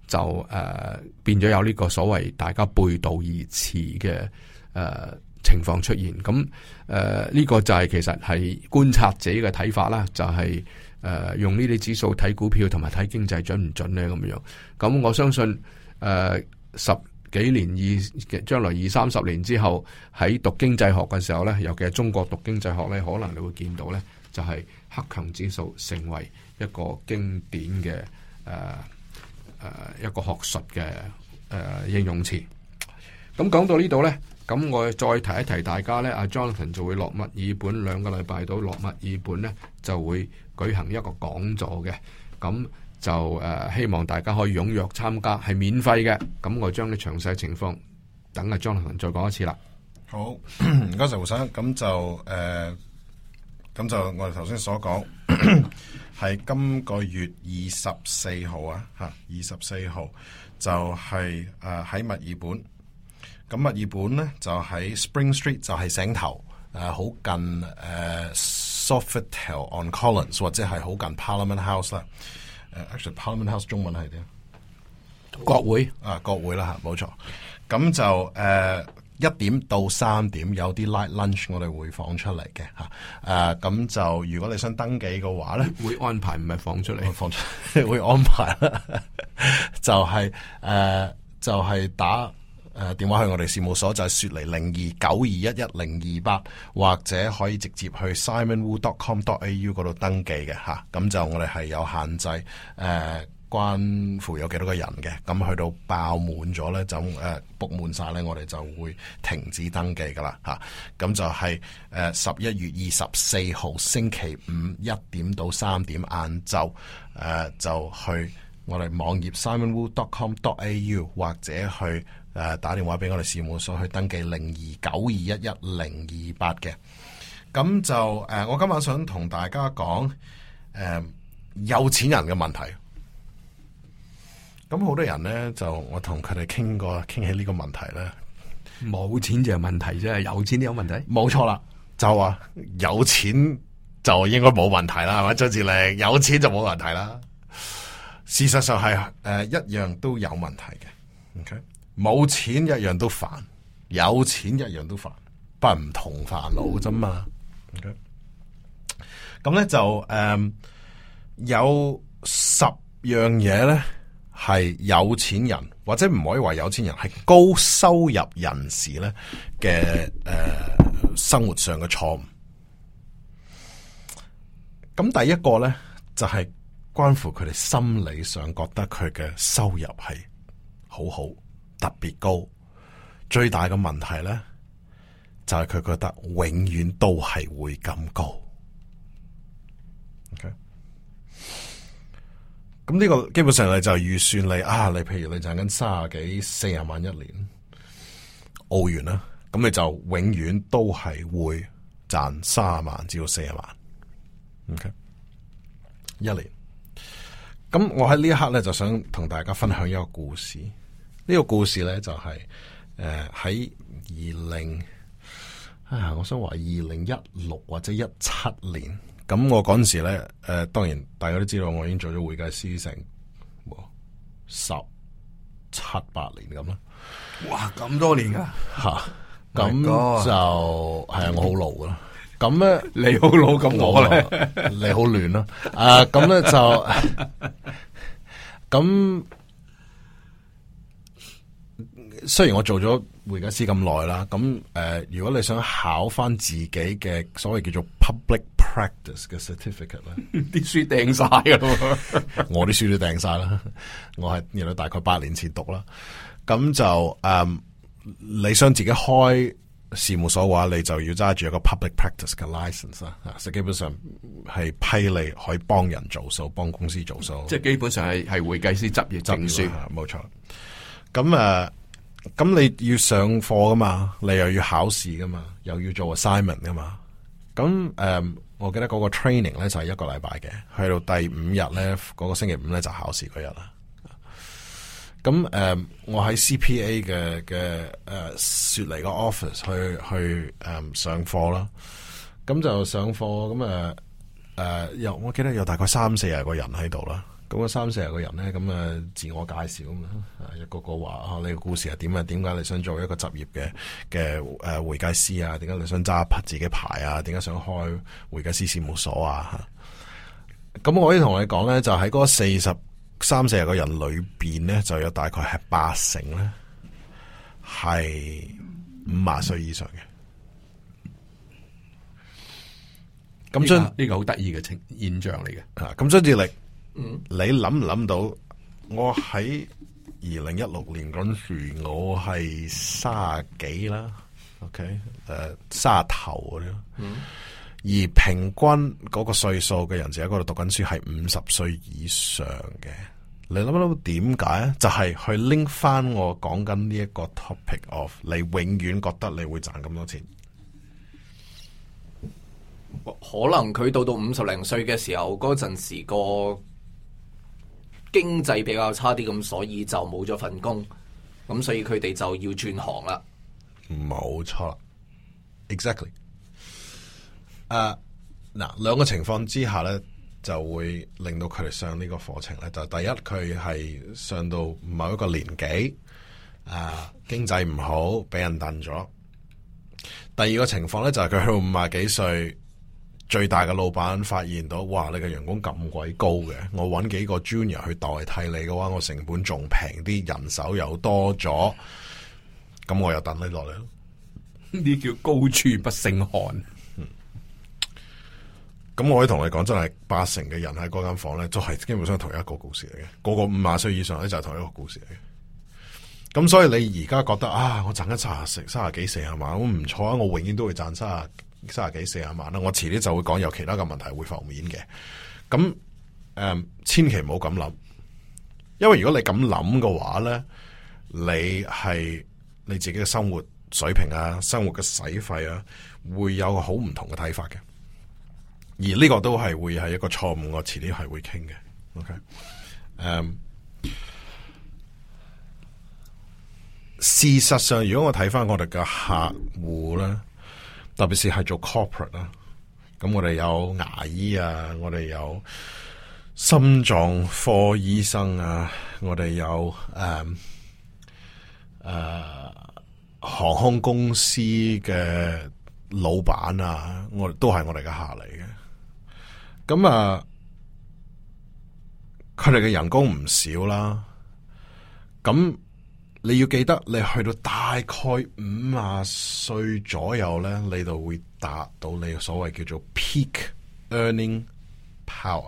就誒、呃、變咗有呢個所謂大家背道而馳嘅誒、呃、情況出現。咁誒呢個就係其實係觀察者嘅睇法啦，就係、是、誒、呃、用呢啲指數睇股票同埋睇經濟準唔準咧咁樣。咁我相信誒、呃、十幾年二將來二三十年之後喺讀經濟學嘅時候咧，尤其係中國讀經濟學咧，可能你會見到咧，就係、是、克強指數成為一個經典嘅誒誒一個學術嘅誒、呃、應用詞。咁講到呢度咧，咁我再提一提大家咧，阿 Jonathan 就會落墨爾本兩個禮拜到，落墨爾本咧就會舉行一個講座嘅，咁。就誒、呃、希望大家可以踴躍參加，係免費嘅。咁我將啲詳細情況等阿 Jonathan 再講一次啦。 好，唔該晒胡生。咁就誒，咁、呃、就我哋頭先所講係今個月二十四號啊，嚇二十四號就係誒喺墨爾本。咁墨爾本咧就喺 Spring Street，就係醒頭誒，好、呃、近誒、呃、Sofitel on Collins， 或者係好近 Parliament House 啦。Actually, Parliament House 中文係點？ 國會啊，國會啦嚇，冇錯。咁就誒一、呃、點到三點有啲 light lunch，我哋會放出嚟嘅嚇。誒、啊、咁就如果你想登記嘅話咧， 會安排唔係放出嚟， 放出會安排啦。就係、是、誒、呃、就係、是、打。誒、呃，電話去我哋事務所就係雪梨零二九二一一零二八，或者可以直接去 simon wu dot com dot a u 嗰度登記嘅吓，咁就我哋係有限制，誒、呃，關乎有幾多個人嘅，咁去到爆滿咗咧就誒 book 滿晒咧，我哋就會停止登記噶啦吓，咁就係誒十一月二十四號星期五一點到三點晏晝，誒、呃、就去我哋網頁 simon wu dot com dot a u 或者去。誒、呃，打電話俾我哋事務所去登記零二九二一一零二八嘅，咁就誒、呃，我今晚想同大家講誒、呃，有錢人嘅問題。咁好多人咧，就我同佢哋傾過，傾起呢個問題咧， 冇錢就有問題啫，有錢都有問題。 冇錯啦，就話有錢就應該冇問題啦，係咪？張志玲有錢就冇問題啦。事實上係誒、呃、一樣都有問題嘅。OK。冇錢一樣都煩，有錢一樣都煩，不係唔同煩惱啫嘛。咁、okay? 咧就誒、嗯、有十樣嘢咧係有錢人或者唔可以話有錢人係高收入人士咧嘅誒生活上嘅錯誤。咁第一個咧就係、是、關乎佢哋心理上覺得佢嘅收入係好好。特別高，最大嘅問題咧就係、是、佢覺得永遠都係會咁高。OK，咁呢個基本上你就預算你啊，你譬如你賺緊三十幾、四十萬一年澳元啦，咁你就永遠都係會賺三十萬至到四十萬。OK， 一年。咁我喺呢一刻咧就想同大家分享一個故事。呢個故事咧就係誒喺二零啊，我想話二零一六或者一七年，咁我嗰陣時咧誒、呃，當然大家都知道我已經做咗會計師成十七八年咁啦。 哇，咁多年噶吓，咁就係啊，我好老噶啦。咁咧你好老，咁我咧你好亂啦。啊，咁咧就咁。雖然我做咗會計師咁耐啦，咁誒、呃，如果你想考翻自己嘅所謂叫做 public practice 嘅 certificate 咧， 啲書掟晒噶咯， 我啲書都掟晒啦，我係原來大概八年前讀啦，咁就誒、呃，你想自己開事務所嘅話，你就要揸住一個 public practice 嘅 license 啦，啊，即係基本上係批你可以幫人做數，幫公司做數， 即係基本上係係會計師執業證書， 冇錯。咁誒。呃咁你要上課噶嘛，你又要考試噶嘛，又要做 assignment 噶嘛。咁誒、嗯，我記得嗰個 training 咧就係、是、一個禮拜嘅，去到第五日咧，嗰、那個星期五咧就考試嗰日啦。咁誒、嗯，我喺 C P A 嘅嘅誒雪梨個 office 去去誒、嗯、上課啦。咁就上課咁誒誒，有、呃、我記得有大概三四十個人喺度啦。咁咁啊三四十個人咧，咁啊自我介紹咁啦，一個個話啊，你個故事係點啊？點解你想做一個執業嘅嘅誒會計師啊？點解你想揸自己牌啊？點解想開會計師事務所啊？咁我可以同你講咧，就喺嗰四十三四十個人裏邊咧，就有大概係八成咧係五十歲以上嘅。咁將呢個好得意嘅情現象嚟嘅。 啊，咁張志力，嗯，你諗唔諗到？我喺二零一六年嗰陣時，我係卅幾啦 ，OK，誒，卅頭嗰啲，嗯，而平均嗰個歲數嘅人就喺嗰度讀緊書係五十歲以上嘅。你諗唔諗到點解啊？就係、是、去拎翻我講緊呢一個 topic of， 你永遠覺得你會賺咁多錢。 可能佢到到五十零歲嘅時候，嗰陣時個經濟比較差啲，咁所以就冇咗份工，咁所以佢哋就要轉行啦。 冇錯啦 ，exactly。誒，嗱，兩個情況之下咧，就會令到佢哋上呢個課程咧。就第一，佢係上到某一個年紀，啊，經濟唔好，俾人燉咗。第二個情況咧，就係佢去到五廿幾歲。最大嘅老闆發現到，哇！你嘅人工咁鬼高嘅，我揾幾個 junior 去代替你嘅話，我成本仲平啲，人手又多咗，咁我又等你落嚟咯。 呢叫高處不勝寒。 嗯，咁我可以同你講，真係八成嘅人喺嗰間房咧，都係基本上同一個故事嚟嘅。個個五廿歲以上咧就係同一個故事嚟嘅。咁所以你而家覺得啊，我賺緊三十、三十幾、四十萬，我唔錯啊！我永遠都會賺三十。三十幾四十萬啦，我遲啲就會講有其他嘅問題會浮面嘅。咁誒、嗯，千祈唔好咁諗，因為如果你咁諗嘅話咧，你係你自己嘅生活水平啊，生活嘅使費啊，會有個好唔同嘅睇法嘅。而呢個都係會係一個錯誤，我遲啲係會傾嘅。OK，誒、嗯，事實上，如果我睇翻我哋嘅客戶咧。特別是係做 corporate 啦，咁我哋有牙醫啊，我哋有心臟科醫生啊，我哋有誒誒、嗯呃、航空公司嘅老闆啊，我都係我哋嘅客嚟嘅。咁啊，佢哋嘅人工唔少啦，咁。你要記得，你去到大概五十歲左右咧，你就會達到你所謂叫做 peak earning power，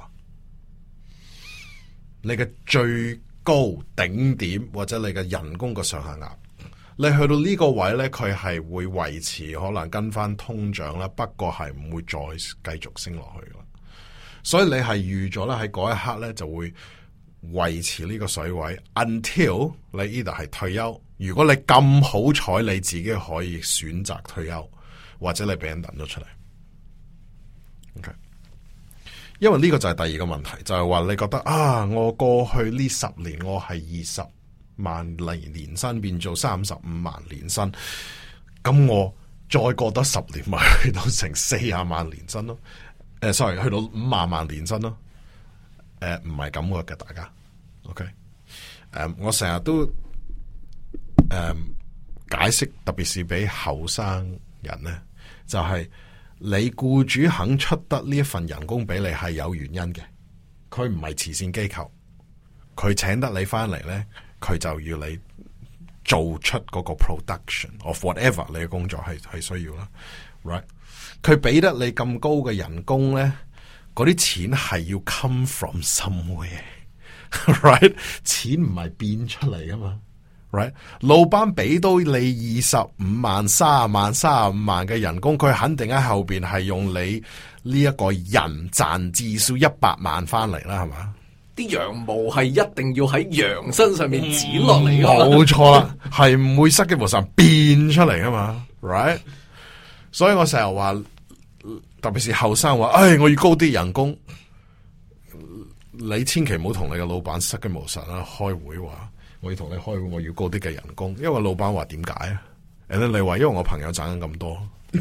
你嘅最高頂點或者你嘅人工嘅上限額。你去到呢個位咧，佢係會維持，可能跟翻通脹啦，不過係唔會再繼續升落去噶啦。所以你係預咗咧，喺嗰一刻咧就會。維持呢個水位 ，until 你 either 係退休。如果你咁好彩，你自己可以選擇退休，或者你俾人掟咗出嚟。OK，因為呢個就係第二個問題，就係、是、話你覺得啊，我過去呢十年我係二十萬年年薪變做三十五萬年薪，咁我再過多十年咪去到成四十萬年薪咯？誒、呃、，sorry， 去到五萬萬年薪咯？誒、呃，唔係咁嘅，大家，OK，誒、呃，我成日都誒、呃、解釋，特別是俾後生人咧，就係、是、你僱主肯出得呢一份人工俾你係有原因嘅，佢唔係慈善機構，佢請得你翻嚟咧，佢就要你做出嗰個 production of whatever 你嘅工作係係需要啦 ，right？佢俾得你咁高嘅人工咧。嗰啲錢係要 come from somewhere，right？ 錢唔係變出嚟噶嘛 ，right？ 老闆俾到你二十五萬、三十萬、三十五萬嘅人工，佢肯定喺後邊係用你呢一個人賺至少一百萬翻嚟啦，係嘛？ 啲羊毛係一定要喺羊身上面剪落嚟噶， 冇錯啦，係唔會塞嘅無神變出嚟噶嘛 ，right？ 所以我成日話。特別是後生話，唉，我要高啲人工，你千祈唔好同你嘅老闆失驚無神啦。開會話，我要同你開會，我要高啲嘅人工，因為老闆話點解啊？誒，你話因為我朋友賺緊咁多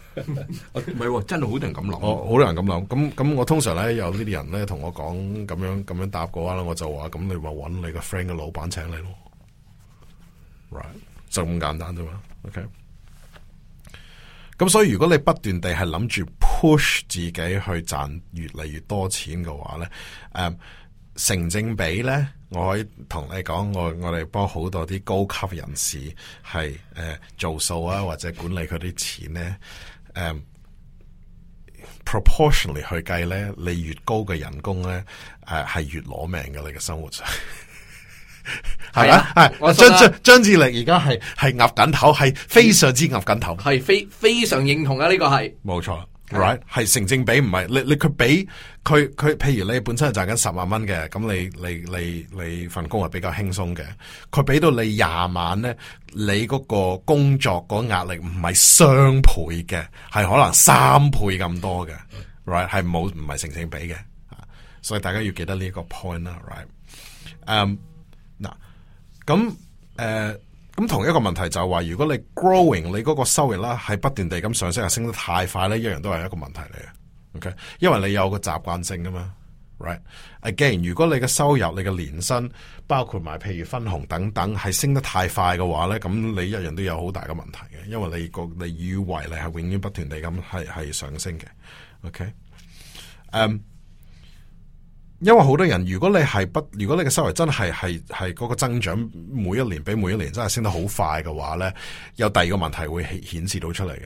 唔係喎，真係好多人咁諗。 我好多人咁諗，咁咁我通常咧有呢啲人咧同我講咁樣咁樣答嘅話咧，我就話咁你咪揾你個 friend 嘅老闆請你咯 ，right 就咁簡單啫嘛 ，OK。咁所以如果你不斷地係諗住 push 自己去賺越嚟越多錢嘅話咧，誒、嗯、成正比咧，我可以同你講，我我哋幫好多啲高級人士係誒、呃、做數啊，或者管理佢啲錢咧，誒、嗯、proportionally 去計咧，你越高嘅人工咧，誒、呃、係越攞命嘅你嘅生活上。係啊，係張張張志力而家係係岌緊頭，係非常之岌緊頭， 係非非常認同啊！呢、這個係冇錯 ，right 係成正比，唔係你你佢俾佢佢，譬如你本身係賺緊十萬蚊嘅，咁你你你你份工係比較輕鬆嘅，佢俾到你廿萬咧，你嗰個工作嗰壓力唔係雙倍嘅，係可能三倍咁多嘅 ，right 係冇唔係成正比嘅，所以大家要記得呢一個 point 啦 ，right， 嗯、um,。嗱，咁誒，咁、呃、同一個問題就係話，如果你 growing 你嗰個收入啦，係不斷地咁上升，係升得太快咧，一樣都係一個問題嚟嘅。OK，因為你有個習慣性噶嘛 ，right？Again， 如果你嘅收入、你嘅年薪，包括埋譬如分紅等等，係升得太快嘅話咧，咁你一樣都有好大嘅問題嘅，因為你個你以為你係永遠不斷地咁係係上升嘅。OK，誒、um,。因為好多人，如果你係不，如果你嘅收入真係係係嗰個增長，每一年比每一年真係升得好快嘅話咧，有第二個問題會顯示到出嚟嘅。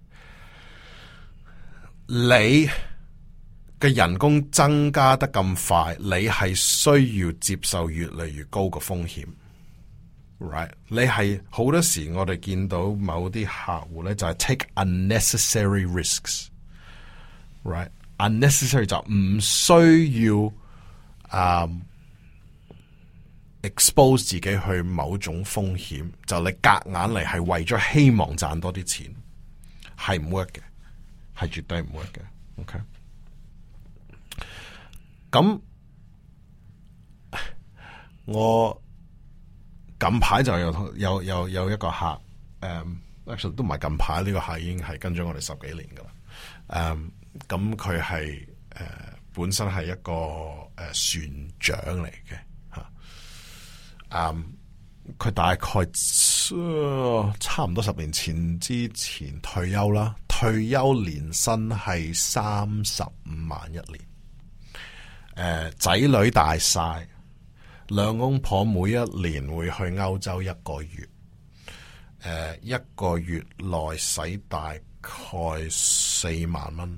你嘅人工增加得咁快，你係需要接受越嚟越高嘅風險 ，right？ 你係好多時我哋見到某啲客戶咧就係 take unnecessary risks，right？Unnecessary 就唔需要。啊、um,，expose 自己去某種風險，就你夾硬嚟係為咗希望賺多啲錢，係唔 work 嘅，係絕對唔 work 嘅。OK，咁我近排就有有有有一個客，誒、um,，actually 都唔係近排，呢、這個客已經係跟咗我哋十幾年噶啦。誒、um,，咁佢係誒。Uh, 本身係一個誒、呃、船長嚟嘅吓，嗯，佢大概、呃、差唔多十年前之前退休啦，退休年薪係三十五萬一年，誒、呃，仔女大晒，兩公婆每一年會去歐洲一個月，誒、呃，一個月內使大概四萬蚊。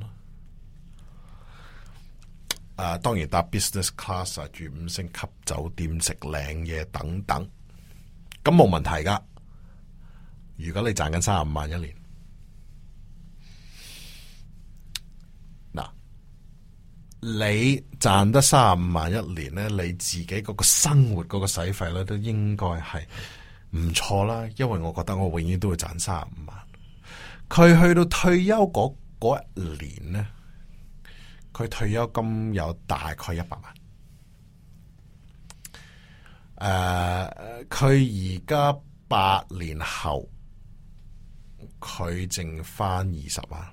誒、uh, 當然搭 business class 啊，住五星級酒店食靚嘢等等，咁冇問題噶。如果你賺緊三十五萬一年，嗱，你賺得三十五萬一年咧，你自己嗰個生活嗰個使費咧都應該係唔錯啦。因為我覺得我永遠都會賺三十五萬。佢去到退休嗰嗰一年咧。佢退休金有大概一百萬，誒、uh, 佢而家八年後，佢剩翻二十萬。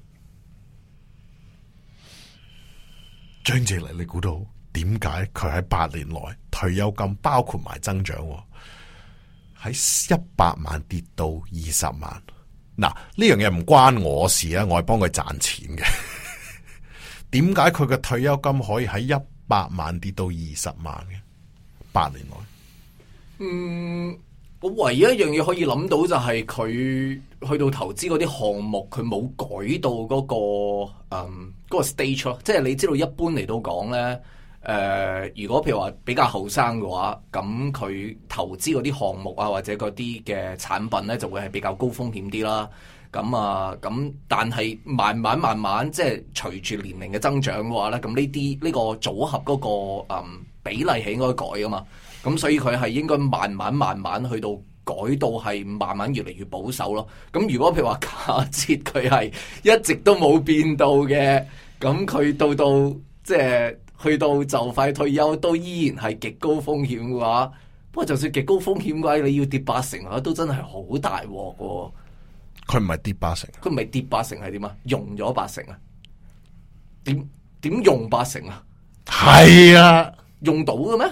張志力，你估到點解佢喺八年內退休金包括埋增長，喺一百萬跌到二十萬？嗱，呢樣嘢唔關我事啊，我係幫佢賺錢嘅。點解佢嘅退休金可以喺一百萬跌到二十萬嘅八年內？ 嗯，我唯一一樣嘢可以諗到就係佢去到投資嗰啲項目，佢冇改到嗰、嗰個嗯嗰、嗰個 stage 咯。即係你知道，一般嚟到講咧，誒、呃，如果譬如話比較後生嘅話，咁佢投資嗰啲項目啊，或者嗰啲嘅產品咧，就會係比較高風險啲啦。咁啊，咁但係慢慢慢慢，即係隨住年齡嘅增長嘅話咧，咁呢啲呢個組合嗰、嗰個嗯比例係應該改噶嘛。咁所以佢係應該慢慢慢慢去到改到係慢慢越嚟越保守咯。咁如果譬如話假設佢係一直都冇變到嘅，咁佢到到即係去到就快退休都依然係極高風險嘅話，不過就算極高風險嘅話，你要跌八成啊，都真係好大鑊喎。 佢唔係跌八成， 佢唔係跌八成係點啊？用咗八成啊？點點用八成啊？ 係啊， 用到嘅咩？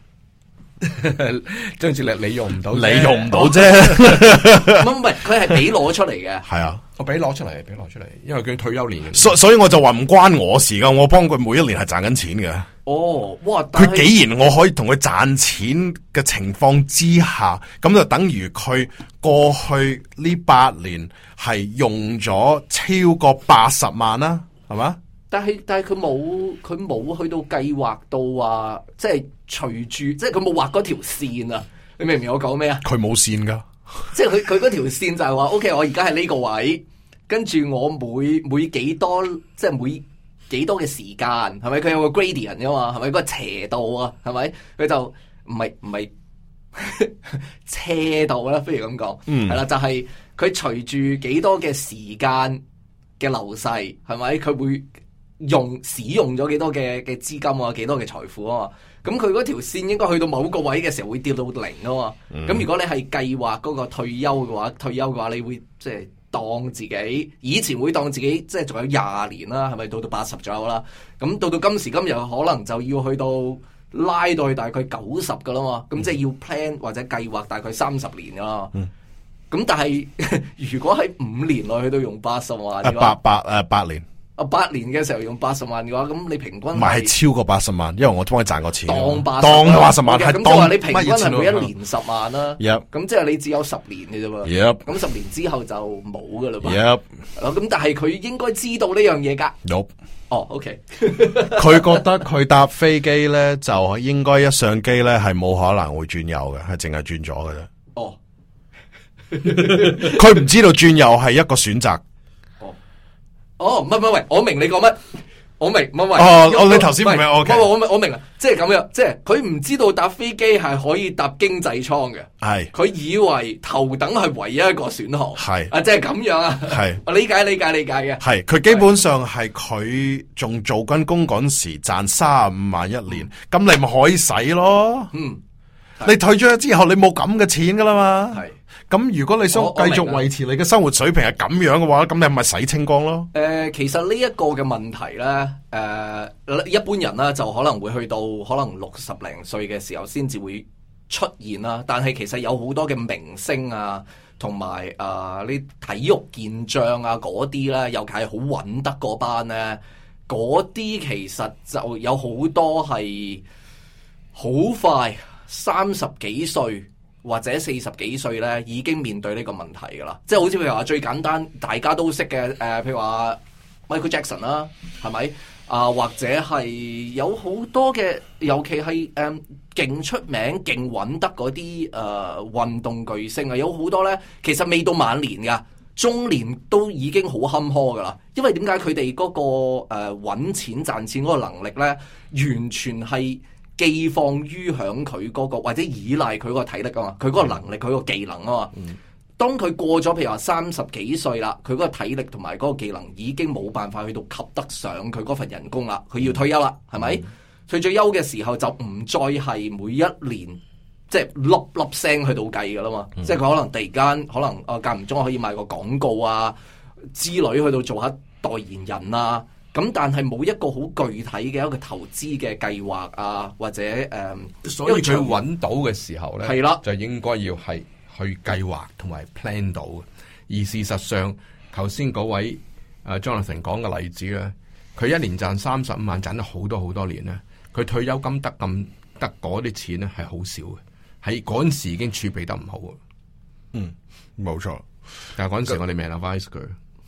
張志力你用唔到， 你用唔到啫。 唔係唔係，佢係俾攞出嚟嘅。 係啊， 我俾攞出嚟，俾攞出嚟，因為佢退休年。 所所以我就話唔關我事噶，我幫佢每一年係賺緊錢嘅。 哦，哇！ 佢既然我可以同佢賺錢嘅情況之下，咁就等於佢過去呢八年係用咗超過八十萬啦，係嘛？ 但係但係佢冇佢冇去到計劃到話，即係隨住即係佢冇畫嗰條線啊！你明唔明我講咩啊？ 佢冇線噶， 即係佢佢嗰條線就係話 ，OK，我而家係呢個位，跟住我每每幾多即係每幾多嘅時間，係咪佢有個 gradient 噶嘛？係咪嗰個斜度啊？係咪佢就唔係唔係斜度啦？不如咁講， 嗯， 係啦，就係佢隨住幾多嘅時間嘅流逝，係咪佢會用使用咗幾多嘅嘅資金啊，幾多嘅財富啊嘛？咁佢嗰條線應該去到某個位嘅時候會跌到零啊嘛。咁、嗯、如果你係計劃嗰個退休嘅話，退休嘅話你會即係當自己以前會當自己即係仲有廿年啦，係咪到到八十左右啦？咁到到今時今日可能就要去到拉到去大概九十噶啦嘛。咁、嗯、即係要 plan 或者計劃大概三十年噶啦。咁、嗯、但係如果喺五年內去到用八十萬嘅話， 八八誒八年。 啊，八年嘅時候用八十萬嘅話，咁你平均唔係係超過八十萬，因為我幫佢賺過錢。 當八當八十萬係咁即係話你平均係每一年十萬啦。 Yep， 咁即係你只有十年嘅啫嘛。 Yep， 咁十年之後就冇噶啦嘛。 Yep， 咁但係佢應該知道呢樣嘢噶。 Nope。 哦，OK。 佢覺得佢搭飛機咧，就應該一上機咧係冇可能會轉右嘅，係淨係轉左嘅啫。 哦。 佢唔知道轉右係一個選擇。 哦，唔係唔係，喂，我明你講乜，我明，唔係喂， 哦，哦，你頭先唔明，我我明，我明啊，即係咁樣，即係佢唔知道搭飛機係可以搭經濟艙嘅，係，佢以為頭等係唯一一個選項，係，啊，即係咁樣啊，係，我理解理解理解嘅，係，佢基本上係佢仲做緊工嗰時賺三十五萬一年，咁你咪可以使咯，嗯，你退咗之後你冇咁嘅錢噶啦嘛，係。咁如果你想繼續維持你嘅生活水平係咁樣嘅話，咁你咪洗清光咯。誒、呃，其實呢一個嘅問題咧，誒、呃，一般人咧就可能會去到可能六十零歲嘅時候先至會出現啦。但係其實有好多嘅明星啊，同埋誒呢體育健將啊嗰啲咧，尤其係好穩得嗰班咧，嗰啲其實就有好多係好快三十幾歲。或者四十幾歲咧，已經面對呢個問題噶啦，即係好似譬如話最簡單，大家都識嘅誒、呃，譬如話 Michael Jackson 啦，係咪啊？或者係有好多嘅，尤其係誒勁出名、勁穩得嗰啲誒運動巨星啊，有好多咧，其實未到晚年噶，中年都已經好坎坷噶啦。因為點解佢哋嗰個誒揾、呃、錢賺錢嗰個能力咧，完全係寄放於響佢嗰個或者依賴佢嗰個體力啊嘛，佢嗰個能力佢個技能啊嘛。嗯、當佢過咗譬如話三十幾歲啦，佢嗰個體力同埋嗰個技能已經冇辦法去到及得上佢嗰份人工啦，佢要退休啦，係咪？佢退休嘅時候就唔再係每一年即係粒粒聲去到計噶啦嘛，嗯、即係佢可能突然間可能啊間唔中可以賣個廣告啊之類去到做下代言人啊。咁但係冇一個好具體嘅一個投資嘅計劃啊，或者誒，嗯、 所以佢揾到嘅時候咧， 係啦， 就應該要係去計劃同埋 plan 到嘅。而事實上，頭先嗰位誒 Jonathan 講嘅例子咧，佢一年賺三十五萬，賺咗好多好多年咧，佢退休金得咁得嗰啲錢咧係好少嘅，喺嗰陣時已經儲備得唔好啊。 嗯，冇錯。 但係嗰陣時我哋未 advise 佢。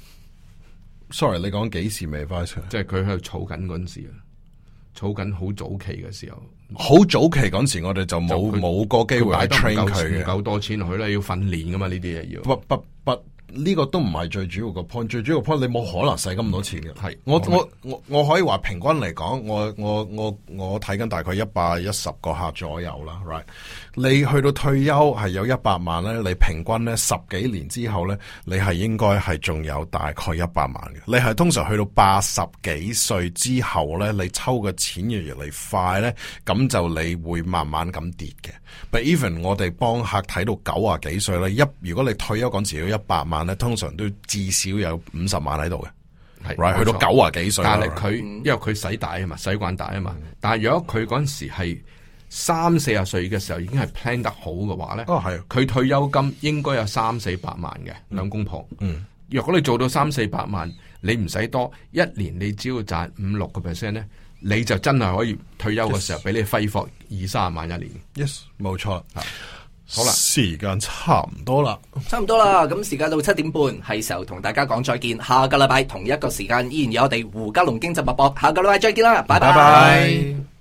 Sorry， 你講幾時未 advise 佢？ 即係佢喺度儲緊嗰陣時啊，儲緊好早期嘅時候。 好早期嗰陣時，我哋就冇冇個機會去 train 佢嘅， 唔夠多錢落去咧，要訓練噶嘛，呢啲嘢要。 不不不。呢個都唔係最主要個 point，最主要個 point 你冇可能使咁多錢嘅。係我我我我可以話平均嚟講，我我我我睇緊大概一百一十個客左右啦。Right，你去到退休係有一百萬咧，你平均咧十幾年之後咧，你係應該係仲有大概一百萬嘅。你係通常去到八十幾歲之後咧，你抽嘅錢越嚟越快咧，咁就你會慢慢咁跌嘅。But even 我哋幫客睇到九啊幾歲咧，一如果你退休嗰時要一百萬。 萬咧，通常都至少有五十萬喺度嘅， 係 right 去到九啊幾歲， 但係佢因為佢使大啊嘛，使慣大啊嘛。但係如果佢嗰陣時係三四十歲嘅時候已經係 plan 得好嘅話咧， 哦係， 佢退休金應該有三四百萬嘅兩公婆。 嗯， 若果你做到三四百萬，你唔使多一年，你只要賺五六個 percent 咧，你就真係可以退休嘅時候俾你揮霍二三十萬一年。 yes， 冇錯。 好啦， 時間差唔多啦， 差唔多啦。咁時間到七點半，係時候同大家講再見。下個禮拜同一個時間依然有我哋胡嘉龍經濟脈搏。下個禮拜再見啦，拜拜。 拜拜。